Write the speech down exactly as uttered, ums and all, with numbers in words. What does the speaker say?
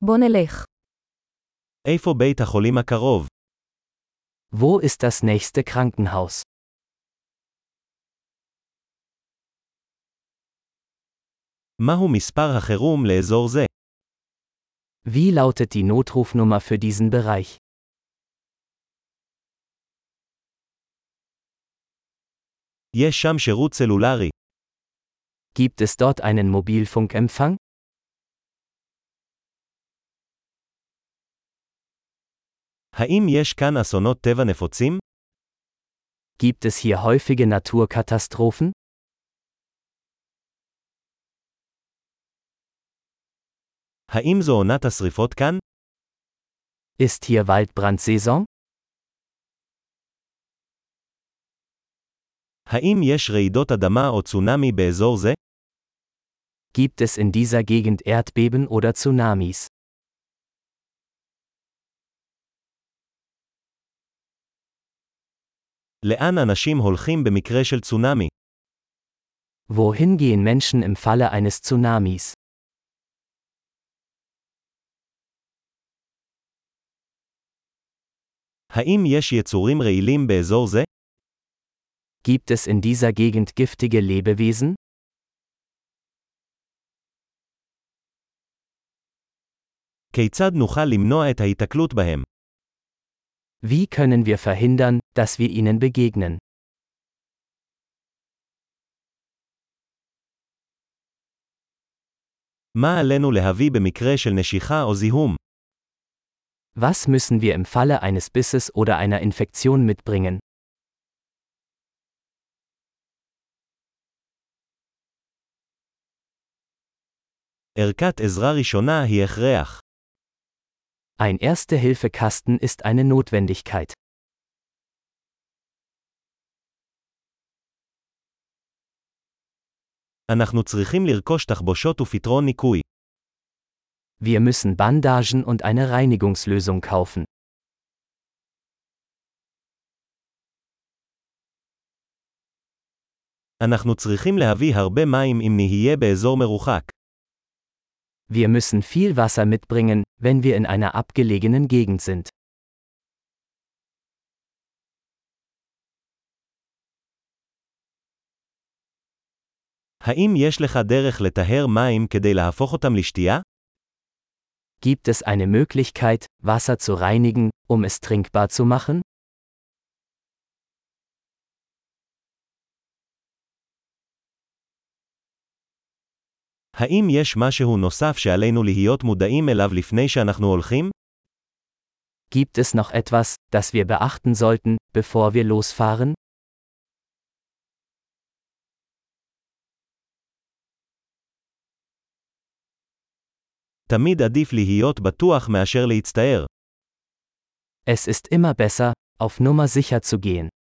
בוא נלך. איפה בית החולים הקרוב? Wo ist das nächste Krankenhaus? מהו מספר החירום לאזור זה? Wie lautet die Notrufnummer für diesen Bereich? יש שם שירות סלולרי. Gibt es dort einen Mobilfunkempfang? האם יש כאן אסונות טבע נפוצים? Gibt es hier häufige Naturkatastrophen? האם זו עונת השריפות כאן? Ist hier Waldbrandsaison? האם יש רעידות אדמה או צונאמי באזור זה? Gibt es in dieser Gegend Erdbeben oder Tsunamis? לאן אנשים הולכים במקרה של צונאמי? Wohin gehen Menschen im Falle eines Tsunamis? האם יש יצורים רעילים באזור זה? Gibt es in dieser Gegend giftige Lebewesen? כיצד נוכל למנוע את ההיתקלות בהם? Wie können wir verhindern, dass wir ihnen begegnen? מה עלינו להביא במקרה של נשיכה או זיהום? Was müssen wir im Falle eines Bisses oder einer Infektion mitbringen? ערכת עזרה ראשונה היא הכרח. Ein Erste-Hilfe-Kasten ist eine Notwendigkeit. אנחנו צריכים לרכוש תחבושות ופתרון ניקוי. Wir müssen Bandagen und eine Reinigungslösung kaufen. אנחנו צריכים להביא הרבה מים אם נהיה באזור מרוחק. Wir müssen viel Wasser mitbringen, wenn wir in einer abgelegenen Gegend sind. האם יש לך דרך לטהר מים כדי להפוך אותם לשתייה? Gibt es eine Möglichkeit, Wasser zu reinigen, um es trinkbar zu machen? האם יש משהו נוסף שעלינו להיות מודעים אליו לפני שאנחנו הולכים? Gibt es noch etwas, das wir beachten sollten, bevor wir losfahren? תמיד עדיף להיות בטוח מאשר להצטער. Es ist immer besser, auf Nummer sicher zu gehen.